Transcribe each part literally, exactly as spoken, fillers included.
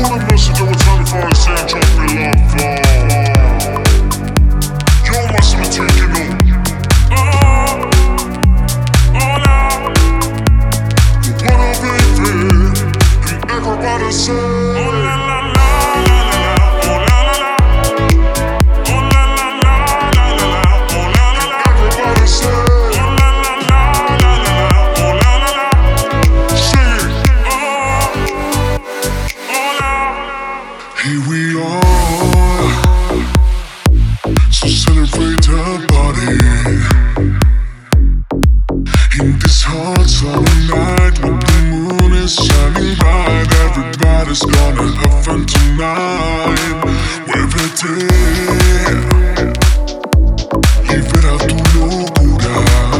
Here we are, so celebrate our body in this hot summer night when the moon is shining bright. Everybody's gonna have fun tonight. Muévete, libera tu locura.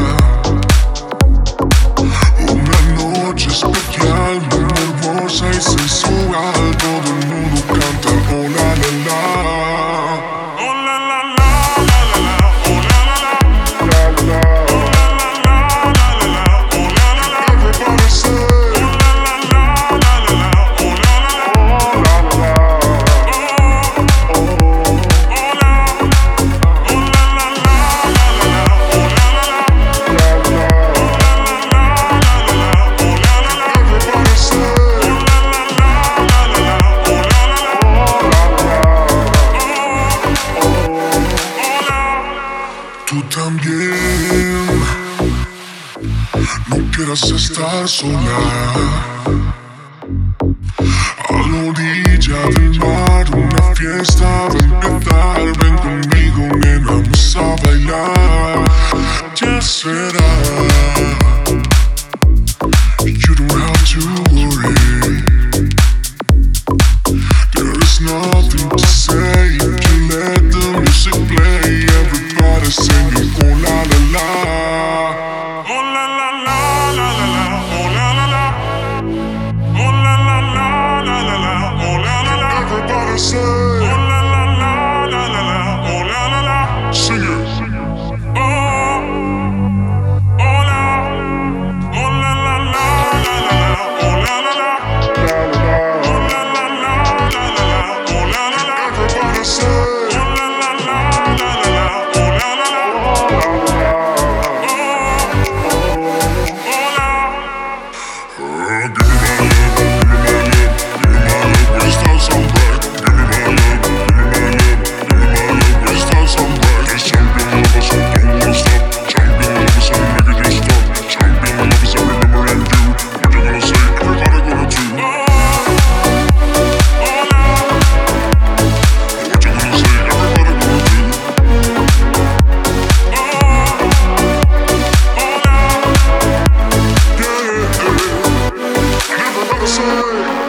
Una noche especial, muy morbosa y sensual. Todo el mundo canta oh la la la, oh la la la la la la, oh la la la la la, oh la la la la la la, oh la la la. Everybody say oh la la la la la la, oh la la la, oh la la la, oh oh la, oh la la la la la la, oh la la la la la, oh la la la la la, oh la la la. Everybody say oh la la la la la la, oh la la la. Tú también no quieras estar sola. A la orilla del mar una fiesta va a empezar. Ven conmigo, nena, vamos a bailar. Ya será. You don't have to worry. There is nothing to say. You let the music play. Everybody singing oh la la la, oh la la la la la la, oh la la la, oh la la la la la la, oh la la la. Everybody say oh la la la la la la, oh la la la. Sing it. Oh, oh la, oh la la la la la la, oh la la la, oh la la la la la la, oh la la la. Everybody say oh la la la la la la, oh la la la, oh oh la. Oh, give me my love, give me my love, give me my love, when it starts so bright. Give me my love, give me my love, give me my love, when it starts so bright. This champion lovers who don't wanna stop, champion lovers who make it just stop, champion lovers are remembering you. What you gonna say? Everybody gonna do. Oh, oh la. What you gonna say? Everybody gonna do. Oh, oh la. Yeah, yeah, yeah. And everybody say.